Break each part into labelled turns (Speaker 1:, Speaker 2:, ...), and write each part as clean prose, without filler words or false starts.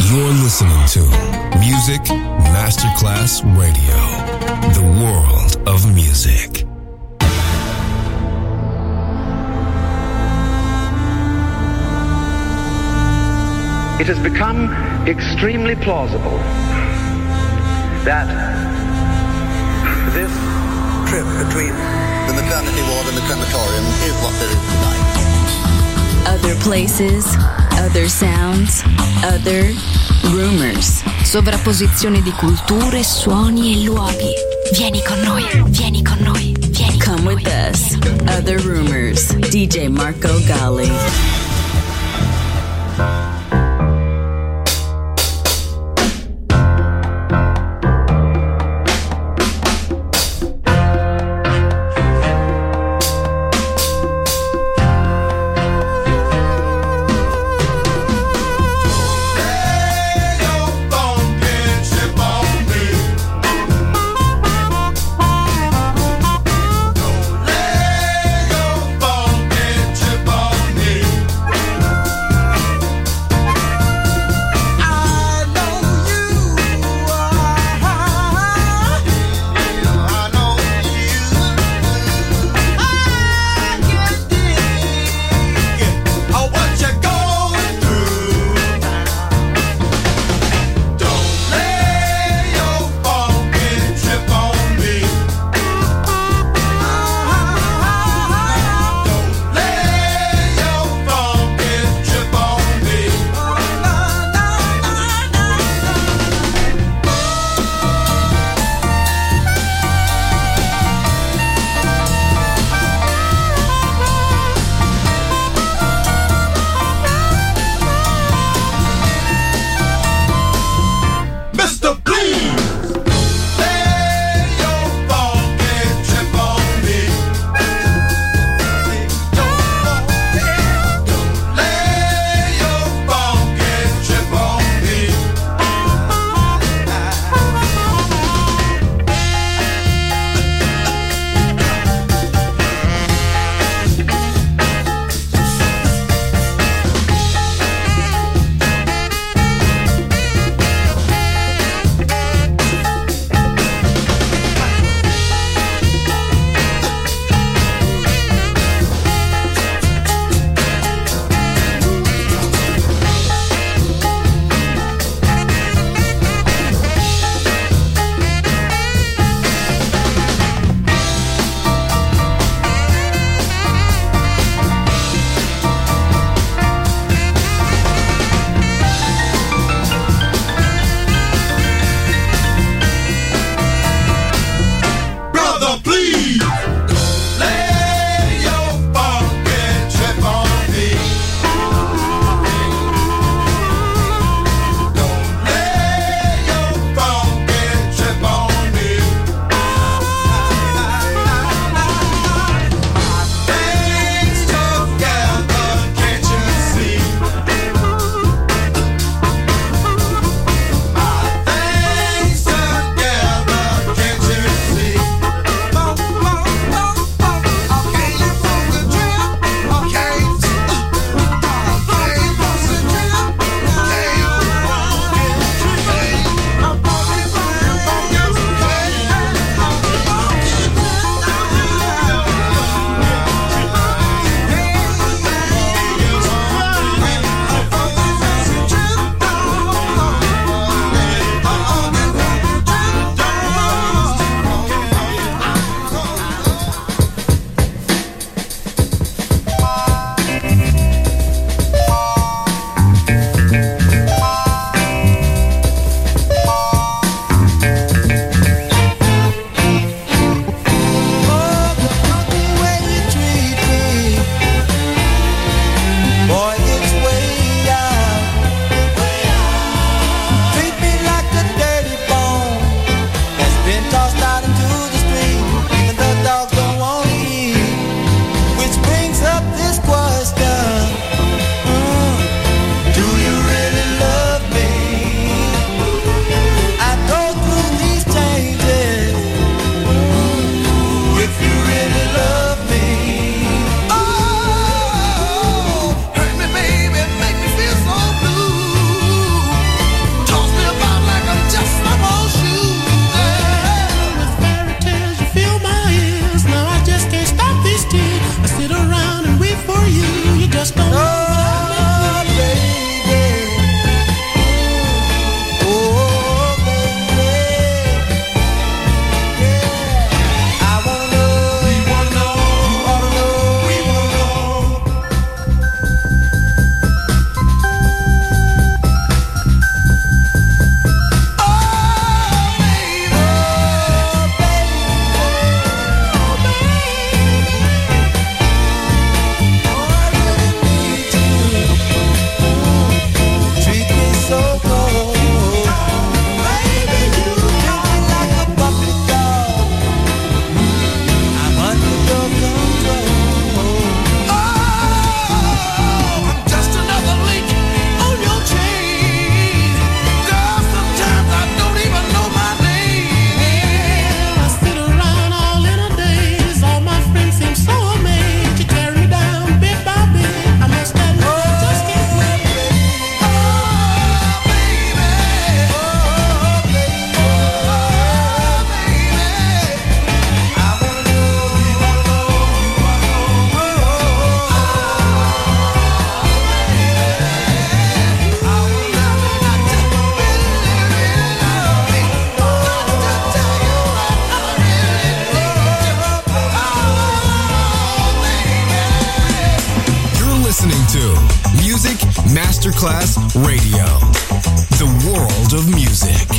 Speaker 1: You're listening to Music Masterclass Radio, the world of music.
Speaker 2: It has become extremely plausible that this
Speaker 3: trip between the maternity ward and the crematorium is what there is tonight.
Speaker 4: Other places, other sounds, other rumors. Sovrapposizione di culture, suoni e luoghi. Vieni con noi, vieni con noi, vieni con noi. Come with us. Other Rumors. DJ Marco Gally.
Speaker 1: Masterclass Radio. The world of music.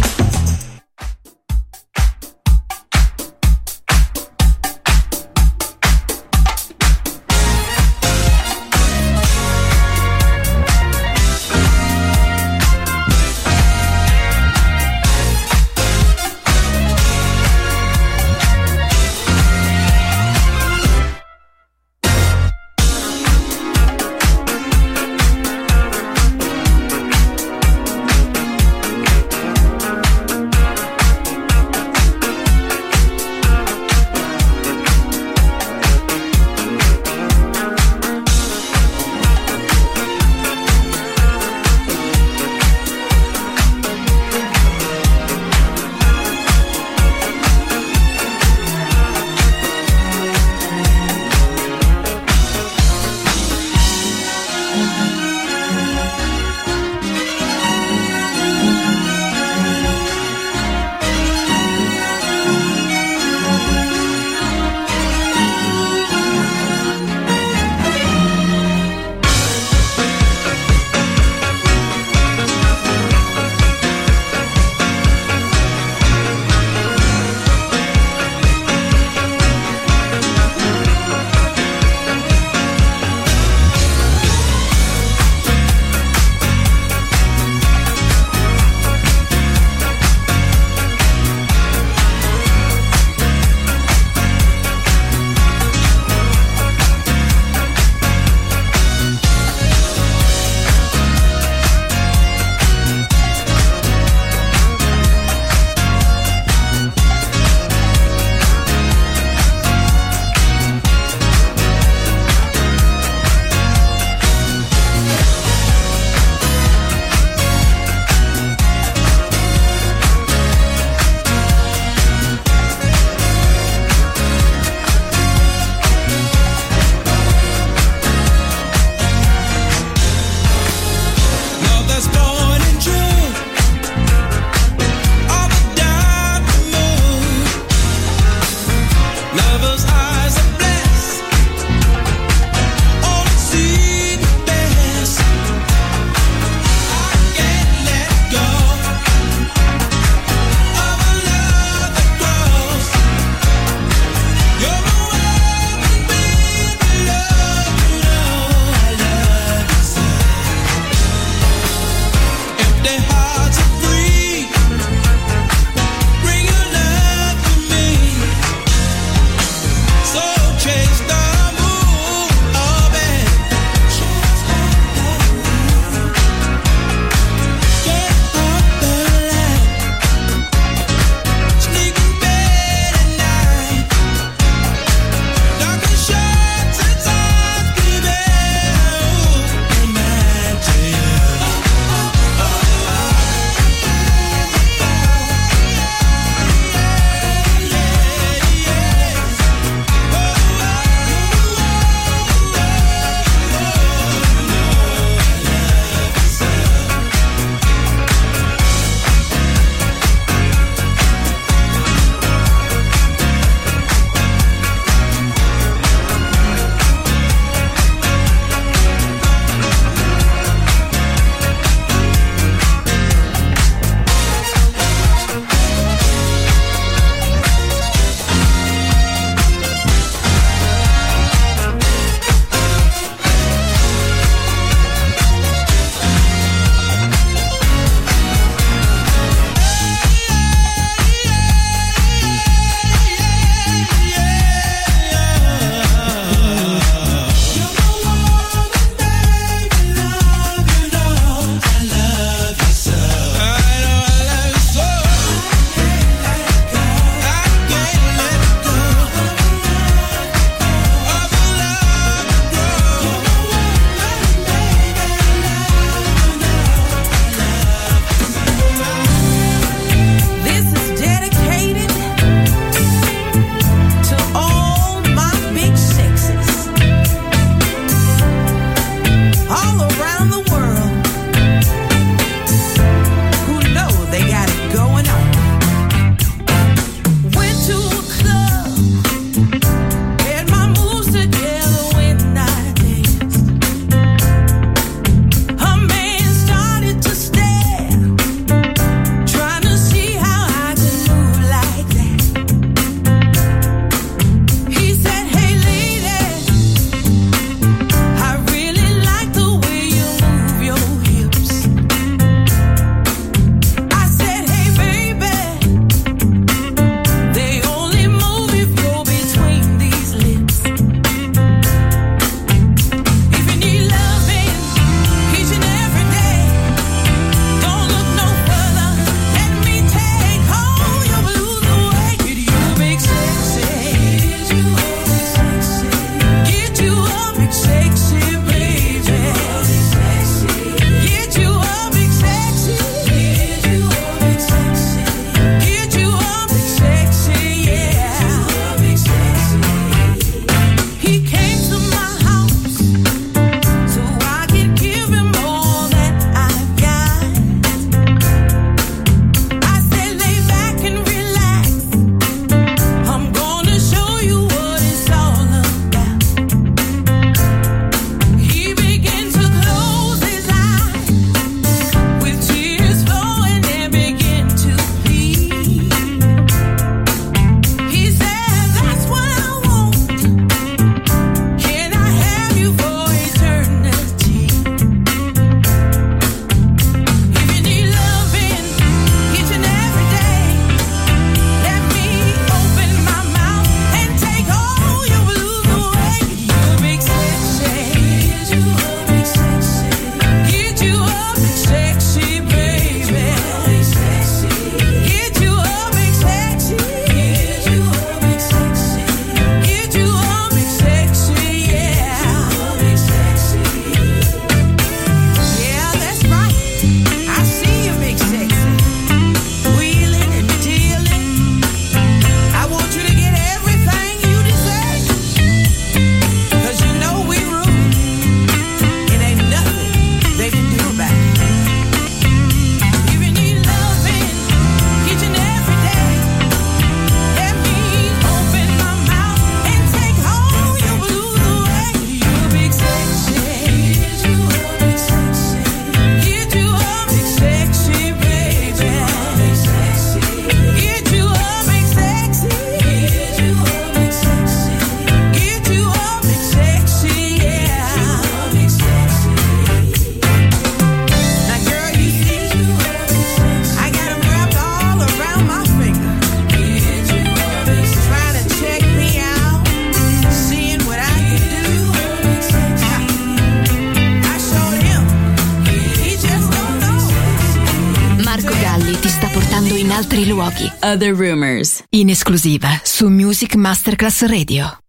Speaker 4: altri luoghi. Other Rumors, in esclusiva su Music Masterclass Radio.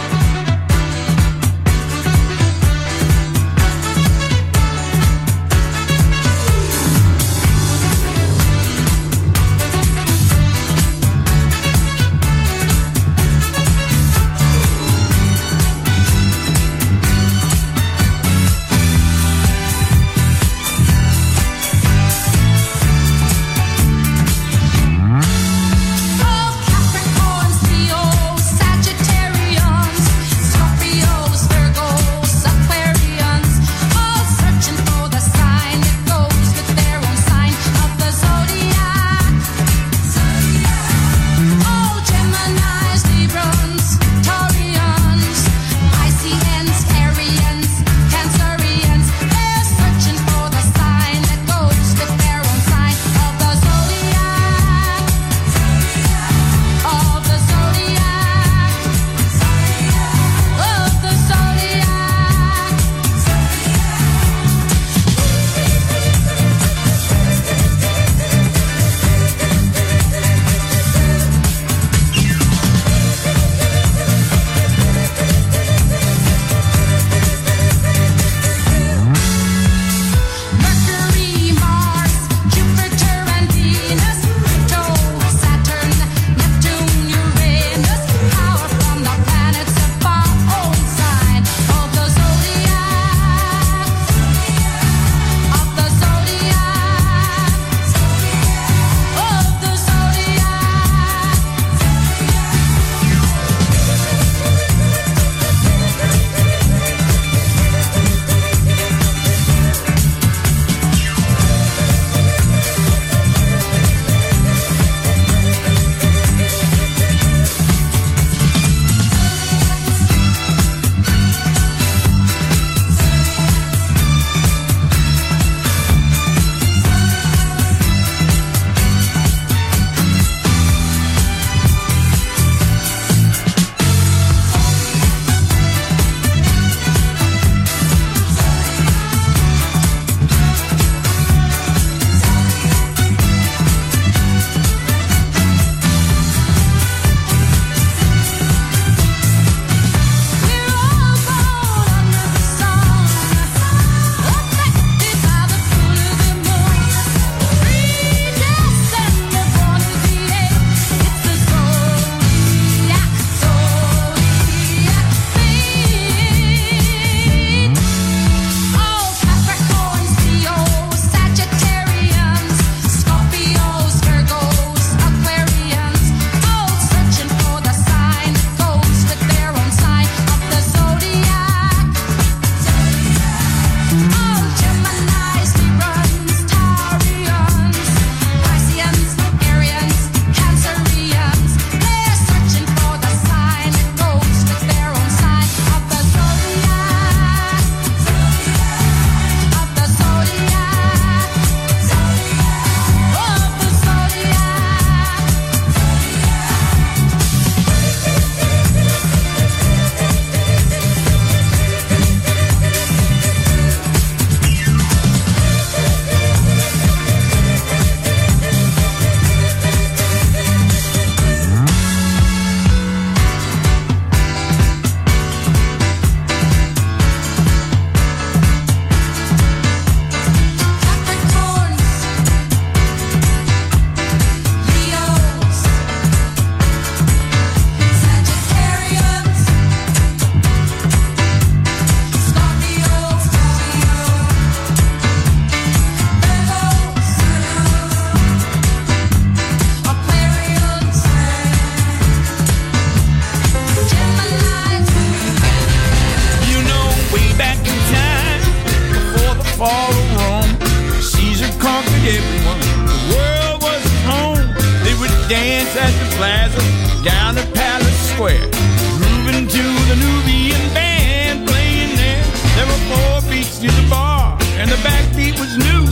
Speaker 5: dance at the plaza, down to Palace Square, grooving to the Nubian band playing there. There were 4 beats to the bar, and the backbeat was new.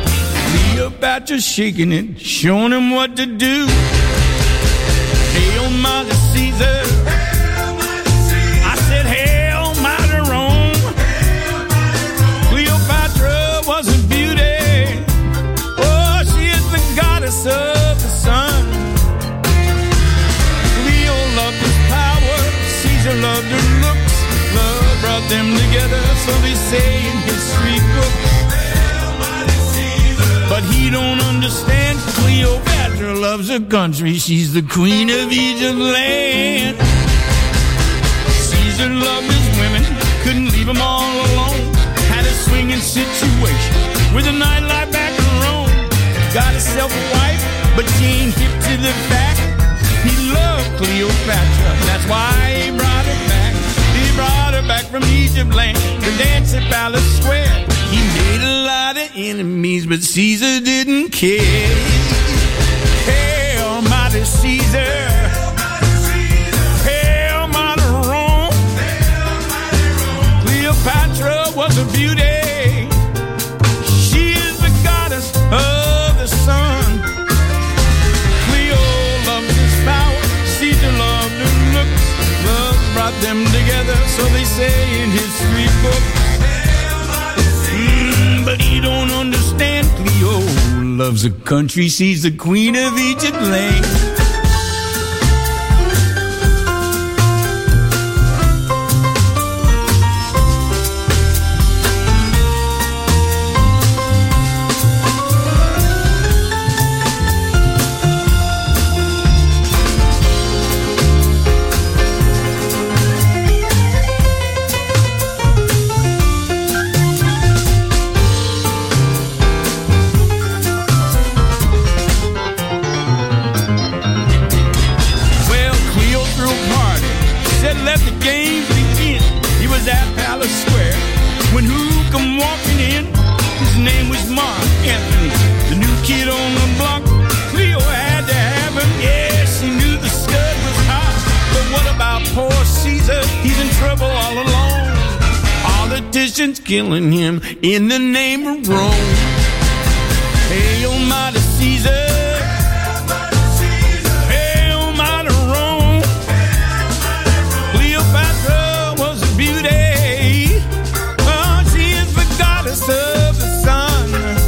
Speaker 5: We about just shaking it, showing him what to do. Hail Mother Caesar, I said hail Mother Rome. Cleopatra was a beauty, oh, she is the goddess of the sun. brought them together, so they say in history books. But he don't understand. Cleopatra loves her country. She's the queen of Egypt land. Caesar loved his women, couldn't leave them all alone. Had a swinging situation with a nightlife back in Rome. Got himself a wife, but she ain't hip to the fact. He loved Cleopatra, that's why he brought her back. He brought her back from Egypt land to dance at Palace Square. He made a lot of enemies, but Caesar didn't care. Hail, mighty Caesar. Hail, mighty Rome. Cleopatra was a beauty. She is the goddess of the sun. Cleo loved his power. Caesar loved her looks. Love brought them together, so they say in history books. But he don't understand. Cleo loves the country. She's the queen of Egypt land. Killing him in the name of Rome. Hail, mighty Caesar. Hail, mighty Rome. Cleopatra was a beauty. Oh, she is the goddess of the sun.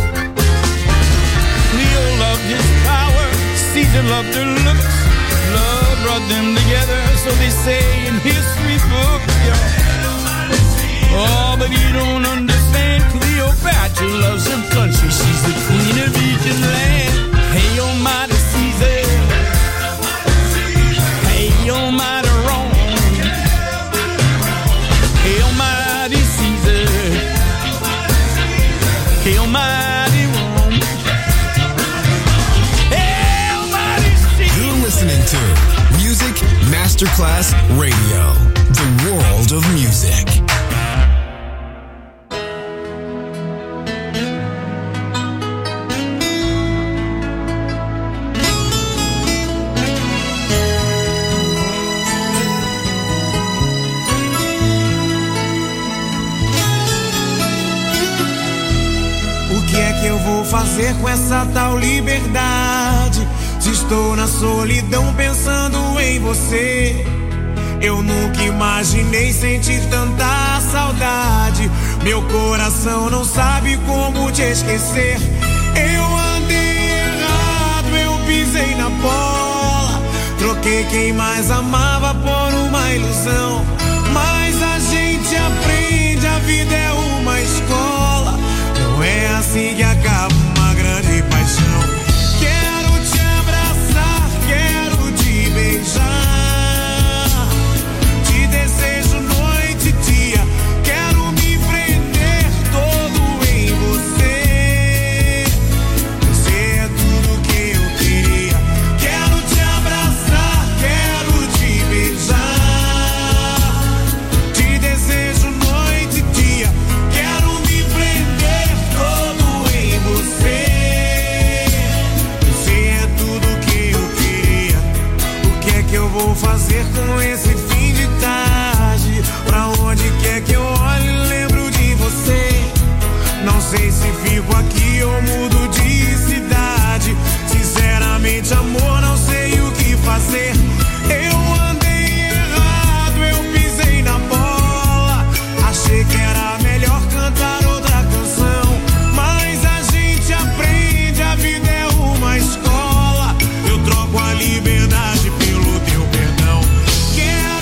Speaker 5: Cleo loved his power. Caesar loved her looks. Love brought them together, so they say in history books. Oh, but you don't understand. Cleopatra loves her country. She's the queen of Egypt land. Hey, almighty Caesar. Hey, almighty Rome. Hey, almighty Caesar. Hey, almighty Rome. Hey, almighty Caesar.
Speaker 1: You're listening to Music Masterclass Radio. The world of music.
Speaker 6: Fazer com essa tal liberdade? Se estou na solidão pensando em você, eu nunca imaginei sentir tanta saudade. Meu coração não sabe como te esquecer. Eu andei errado, eu pisei na bola. Troquei quem mais amava por uma ilusão. Mas a gente aprende, a vida é uma escola. Não é assim que acaba uma grande paixão. Quero te abraçar, quero te beijar. Te desejo noite e dia. Quero me prender todo em você. Você é tudo que eu queria. Quero te abraçar, quero te beijar. Te desejo noite e dia. Quero me prender todo em você. Você é tudo que eu queria. O que é que eu vou fazer com esse fim de tarde? Pra onde quer que eu olhe, lembro de você. Não sei se fico aqui ou mudo de cidade. Sinceramente, amor, não sei o que fazer. Eu andei errado, eu pisei na bola. Achei que era melhor cantar outra canção. Mas a gente aprende, a vida é uma escola. Eu troco a liberdade pelo teu perdão. Quero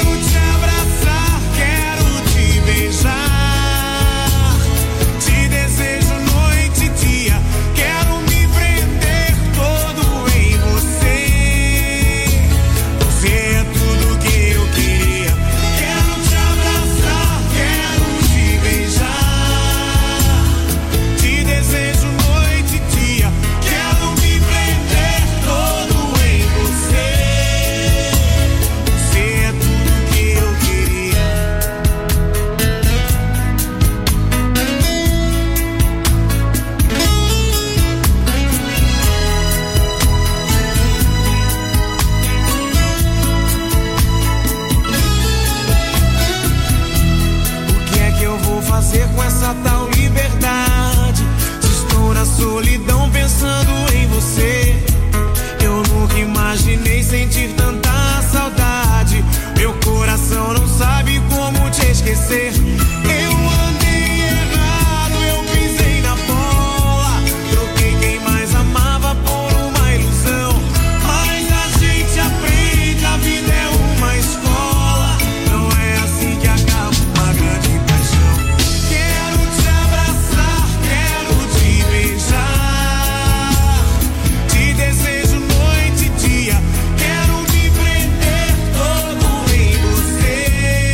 Speaker 6: pensando em você. Eu nunca imaginei sentir tanta saudade. Meu coração não sabe como te esquecer. Eu andei errado, eu pisei na bola. Troquei quem mais amava por uma ilusão. Mas a gente aprende, a vida é uma escola. Não é assim que acaba uma grande paixão. Quero te abraçar, quero te beijar. Te desejo noite e dia. Quero me prender todo em você.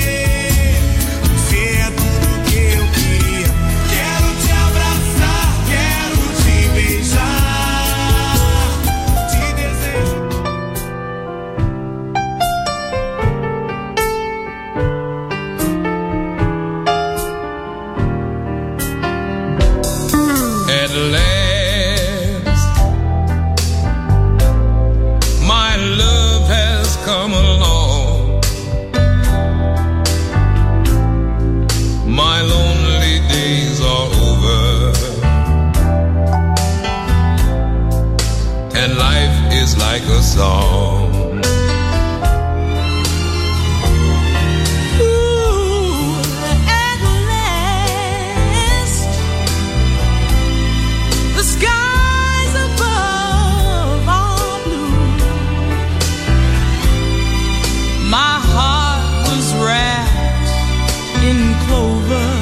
Speaker 6: Você é tudo que eu queria. Quero te abraçar, quero te beijar. Te desejo.
Speaker 5: At last, my love has come along. My lonely days are over, and life is like a song.
Speaker 7: At last, the skies above are blue. My heart was wrapped in clover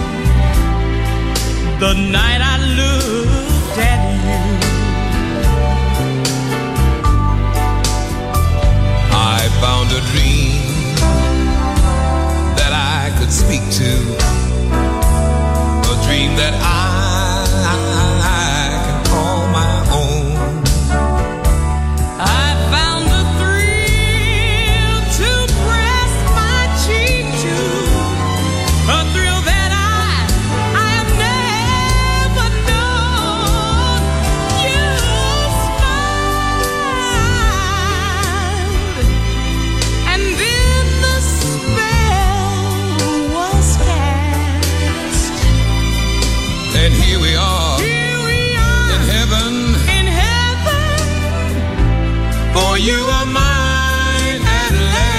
Speaker 7: the night I looked at you.
Speaker 5: I found a dream that I could speak to, a dream that I can call my own.
Speaker 7: I found a thrill to press my cheek to, a thrill that I have never known. You smiled, and then the spell was cast.
Speaker 5: And here we are,
Speaker 7: Here we are
Speaker 5: in heaven,
Speaker 7: in heaven,
Speaker 5: for you are mine at last.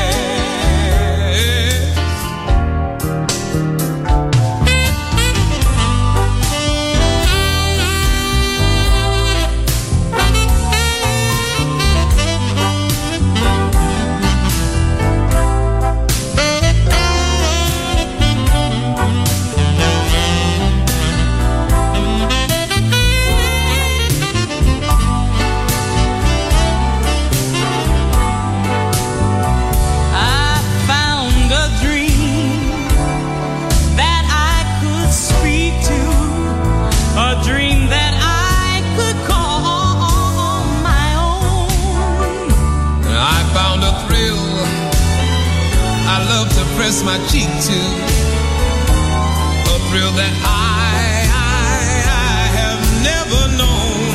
Speaker 7: I found a dream that I could speak to, a dream that I could call my own.
Speaker 5: I found a thrill I love to press my cheek to, a thrill that I have never known.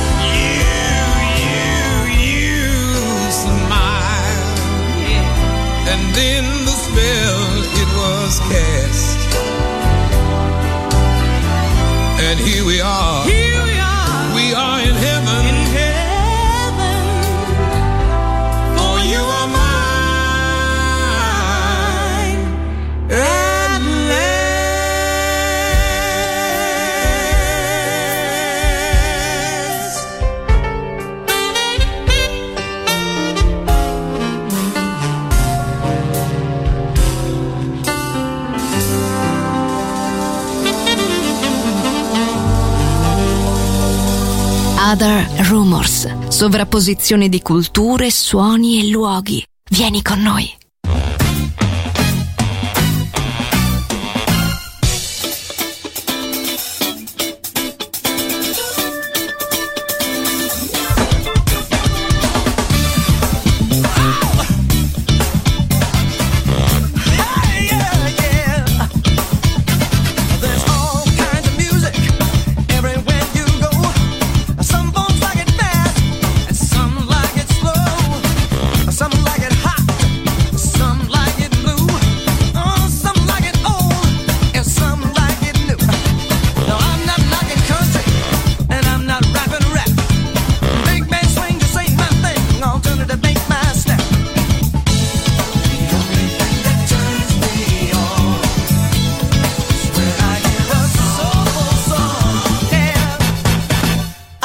Speaker 5: You smile, and then the spell it was cast. And here we are,
Speaker 7: Here we are
Speaker 5: in heaven,
Speaker 7: in heaven,
Speaker 5: for you are mine at last.
Speaker 4: Other Rumors, sovrapposizione di culture, suoni e luoghi. Vieni con noi.
Speaker 6: Some like it slow, some like it hot.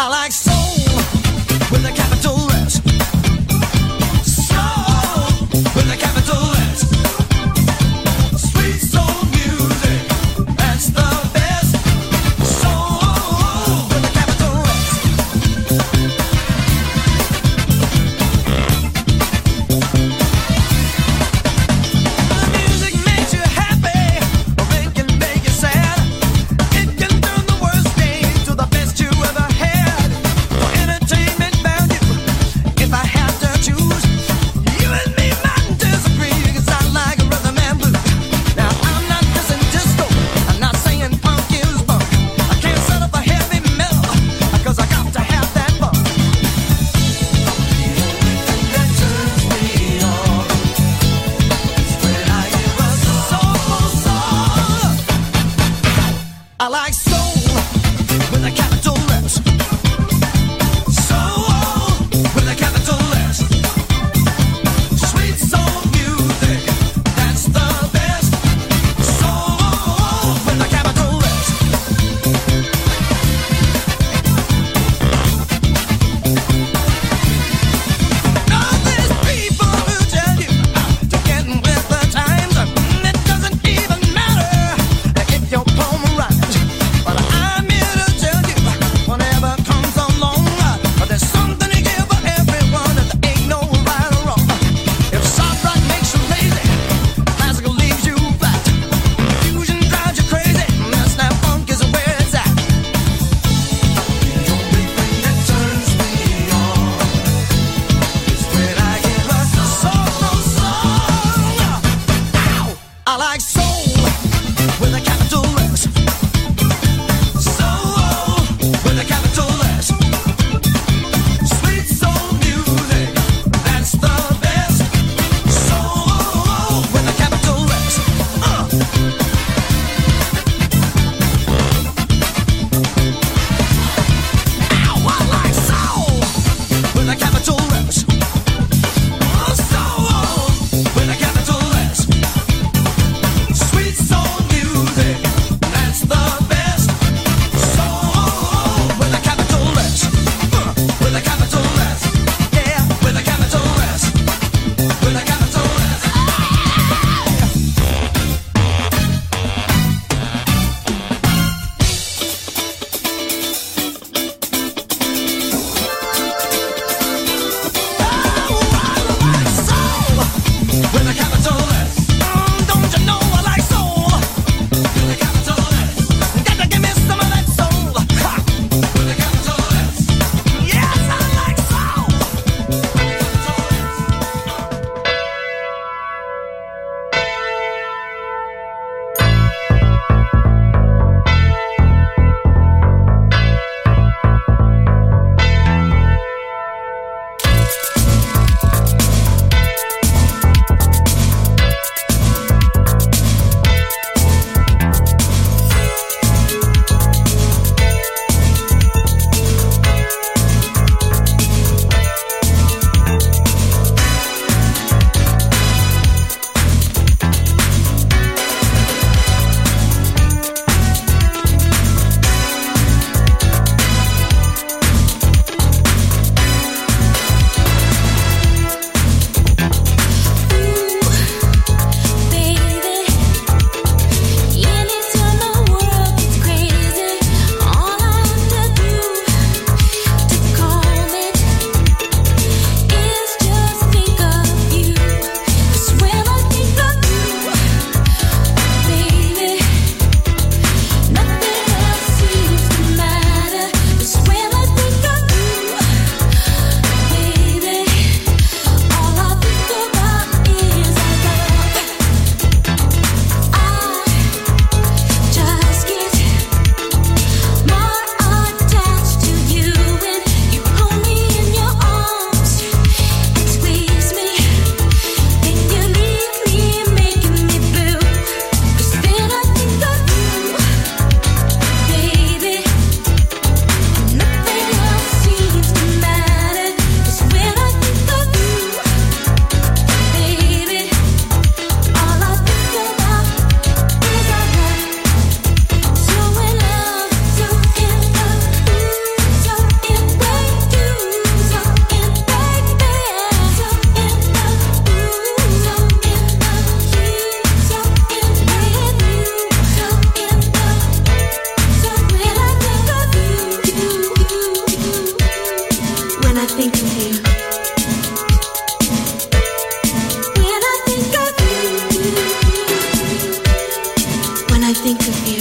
Speaker 8: I like soul with a capital S. Soul with a capital S. Sweet soul music, that's the best. Soul with a capital S. The music makes you happy, or it can make you sad. It can turn the worst day to the best you ever had.
Speaker 9: think of you. When I think of you. When I think of you.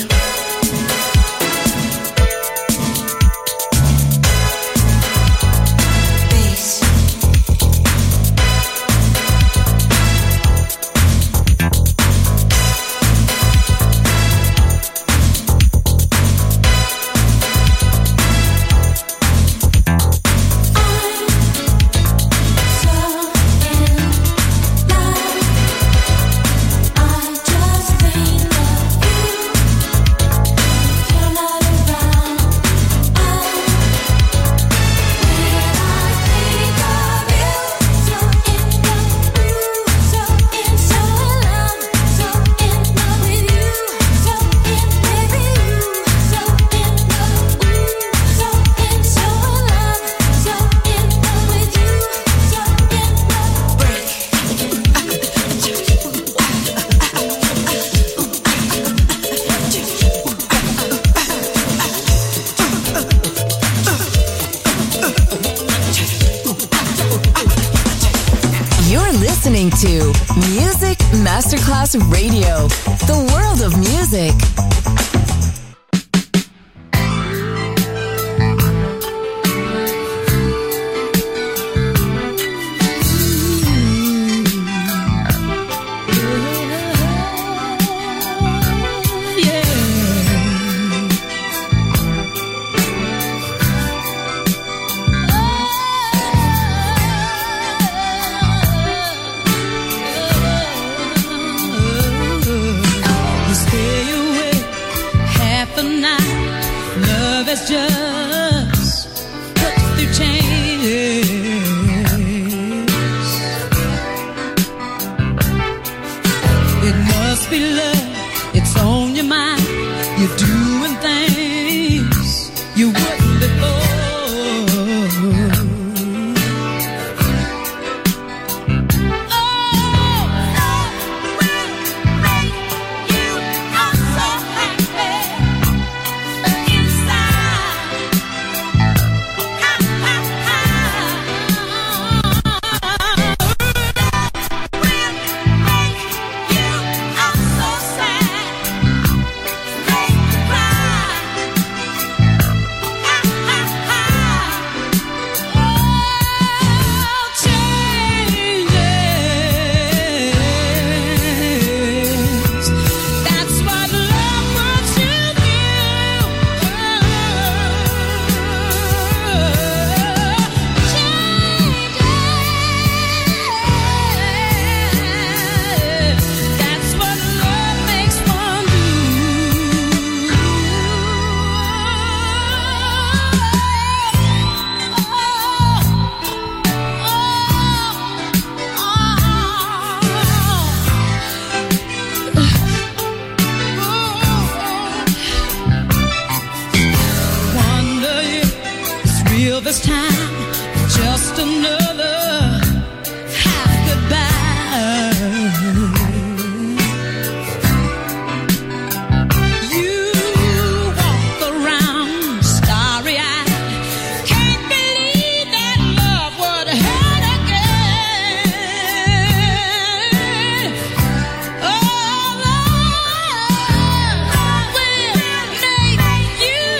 Speaker 10: To Music Masterclass Radio, the world of music.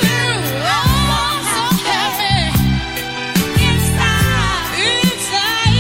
Speaker 11: Inside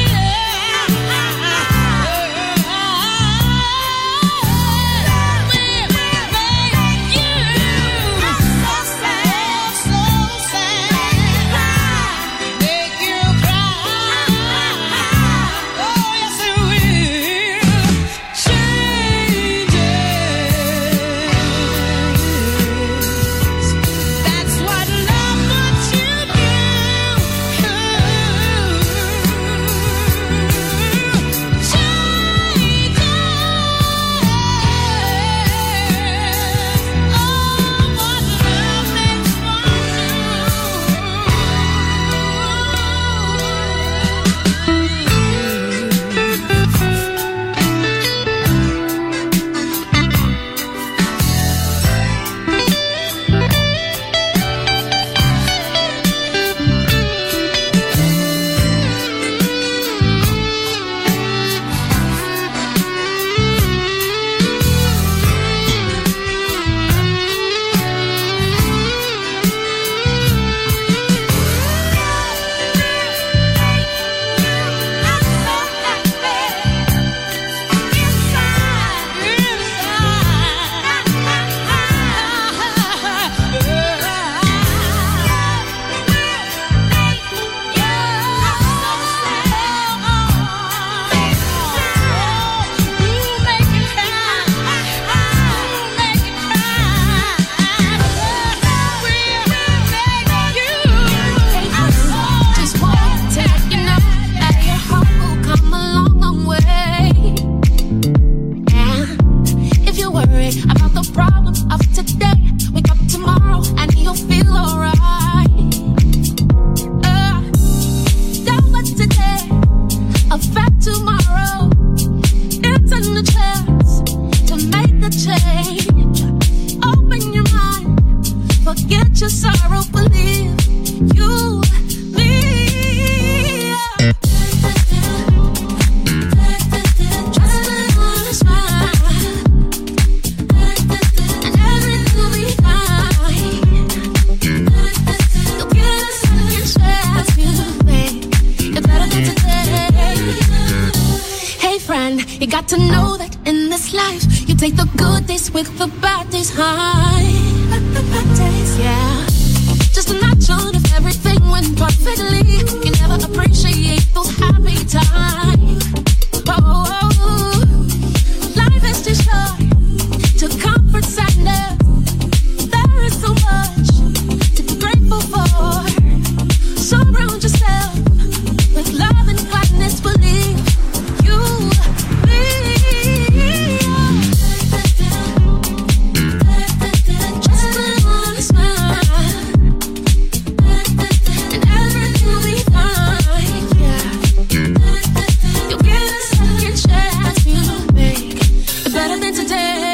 Speaker 11: You got to know that in this life, you take the good days with the bad days high. The bad days, yeah. Just a notch on if everything went perfectly. You never appreciate those happy times. Oh, life is too short to comfort sadness. There is so much to be grateful for. Surround yourself with love and kindness. Believe you, just a smile, and everything will be fine. Yeah, you'll get a second chance to make it better than today.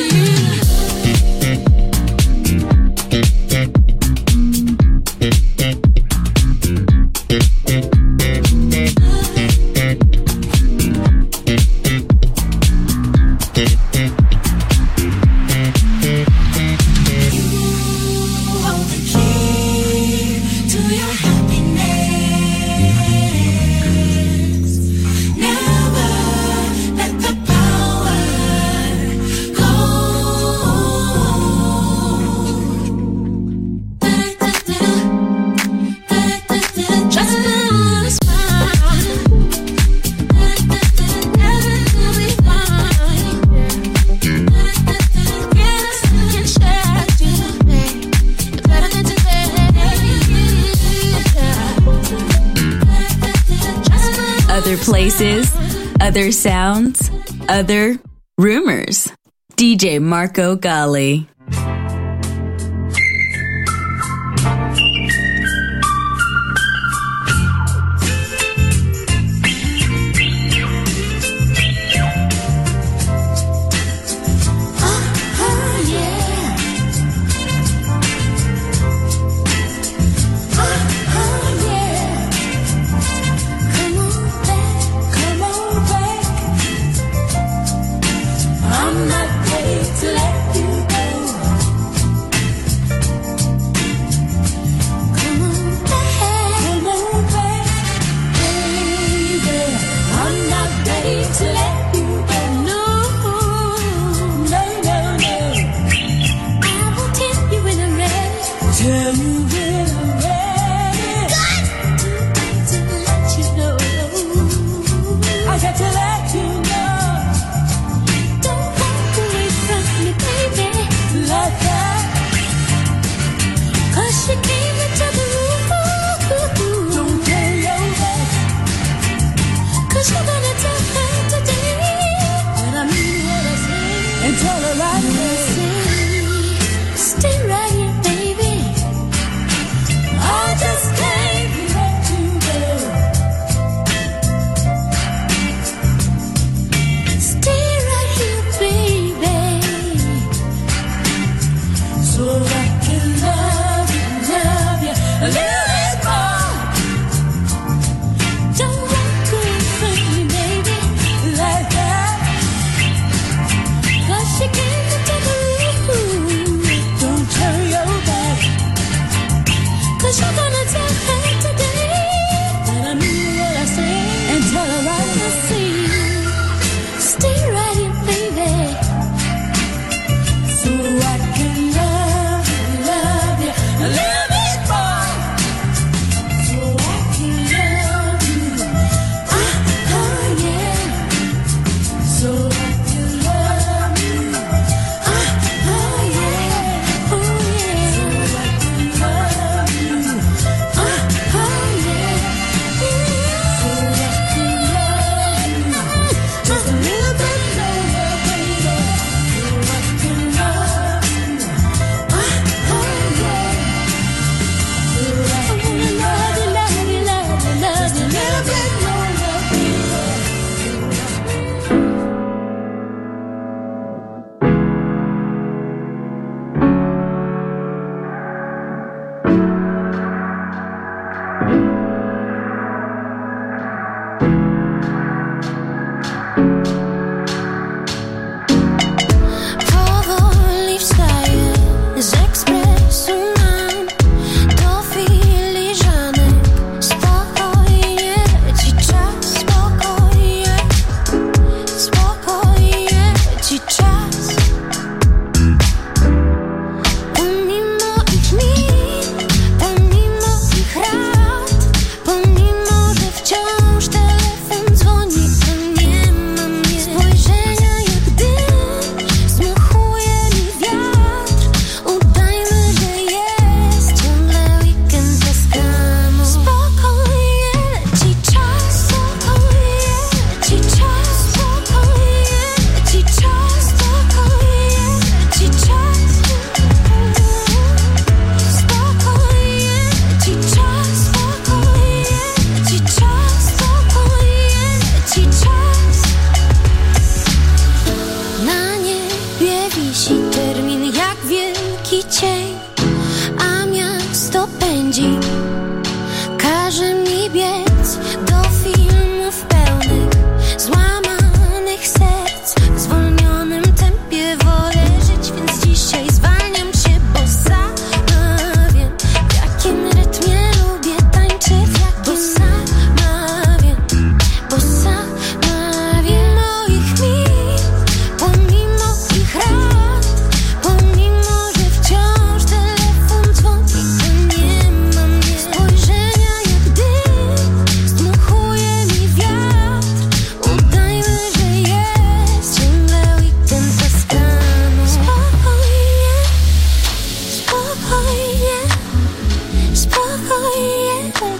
Speaker 4: Other places, other sounds, other rumors. DJ Marco Gally.
Speaker 11: I'm not ready to let you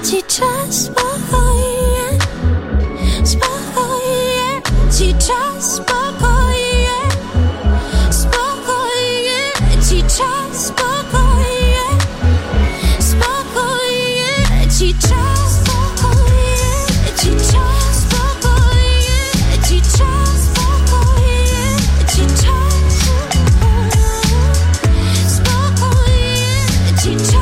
Speaker 11: spokojnie, spokojnie, cicha, spokojnie, spokojnie, cicha, spokojnie, spokojnie, cicha, spokojnie, cicha, spokojnie, cicha, spokojnie, cicha, spokojnie, cicha.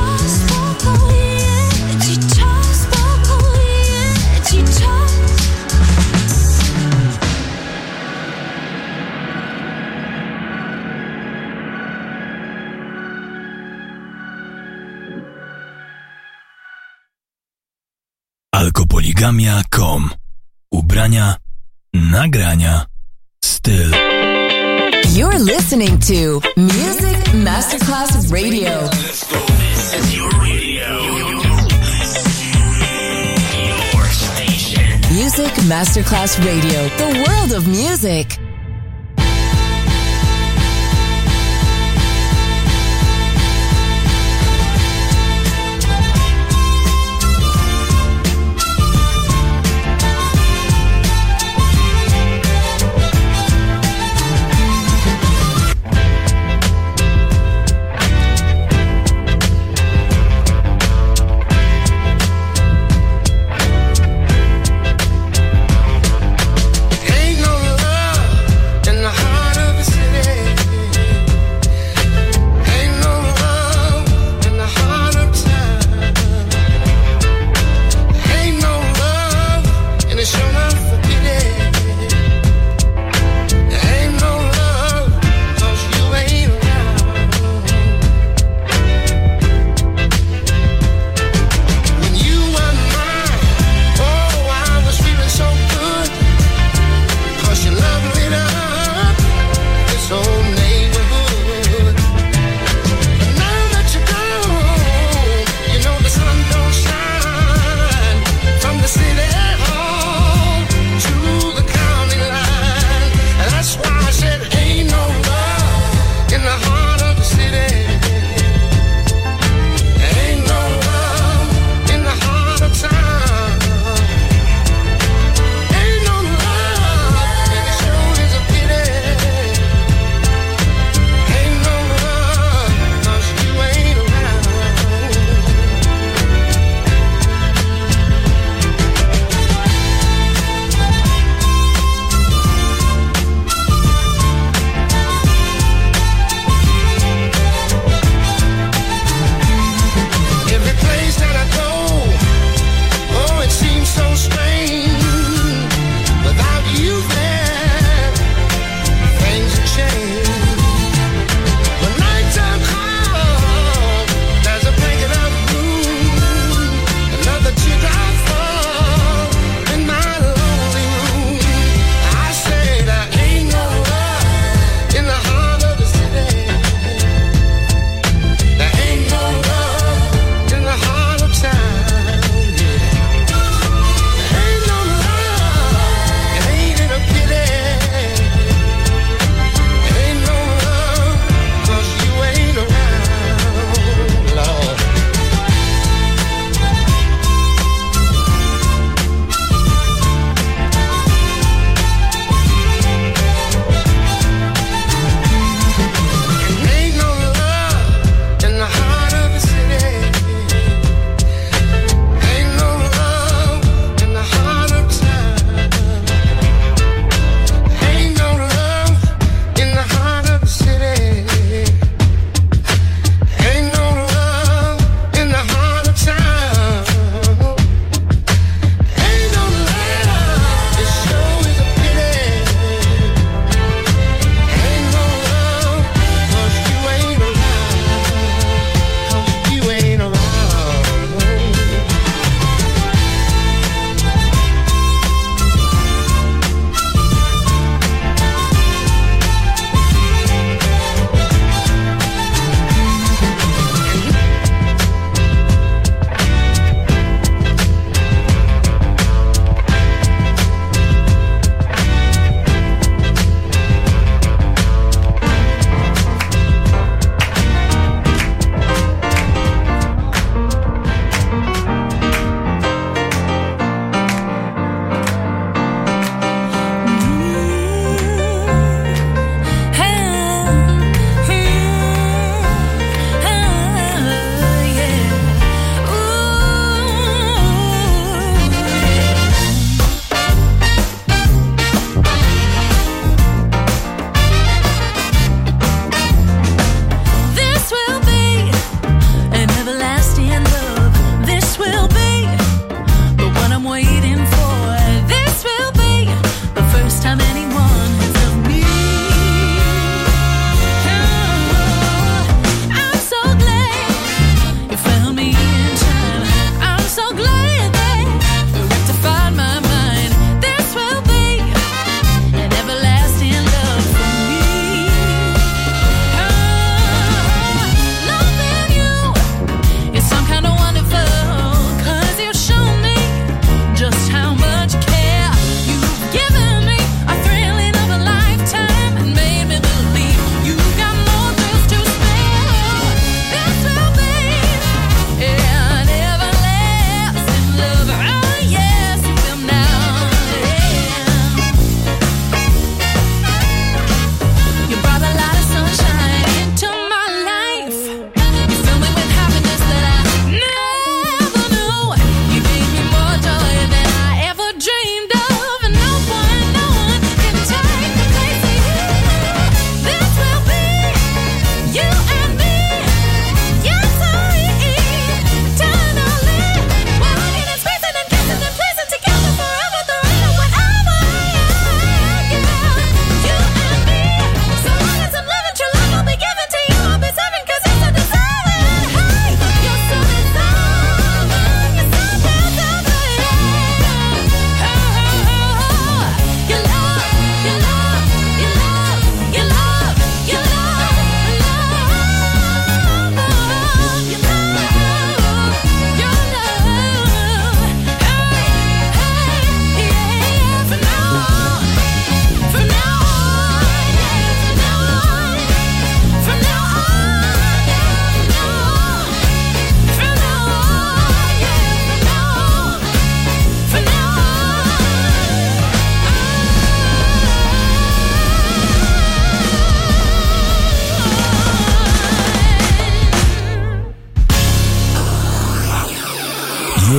Speaker 1: Alkopoligamia.com. Ubrania, nagrania, styl.
Speaker 10: You're listening to Music Masterclass Radio.
Speaker 1: Let's go. This is your radio. Your station.
Speaker 10: Music Masterclass Radio. The world of music.
Speaker 8: Ain't no love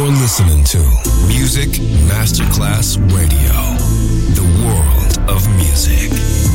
Speaker 1: You're listening to Music Masterclass Radio, the world of music.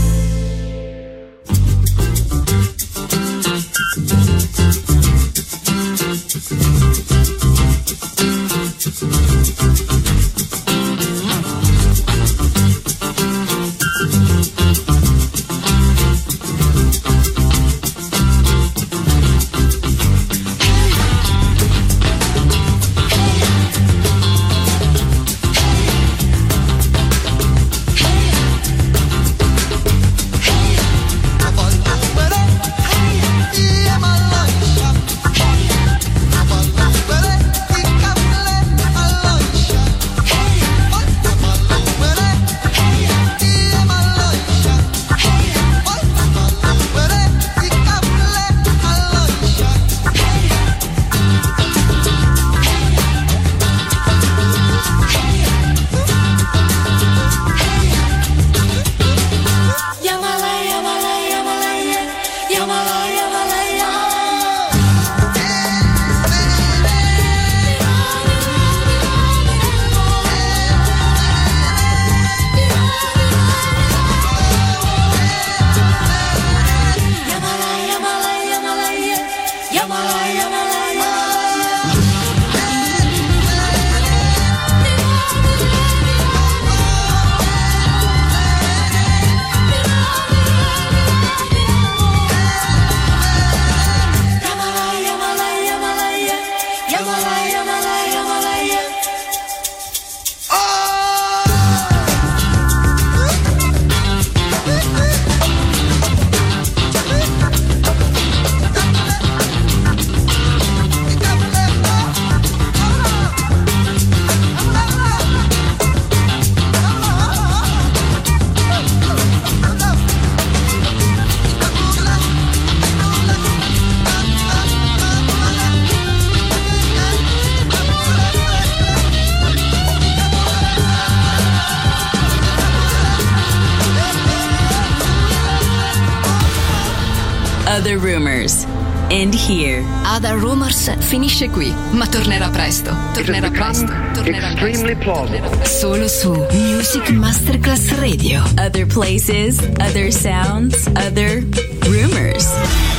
Speaker 4: Other Rumors. End here. Other Rumors finisce qui, ma tornerà presto. Tornerà presto.
Speaker 2: Extremely plausible.
Speaker 4: Solo su Music Masterclass Radio. Other places, other sounds, other rumors.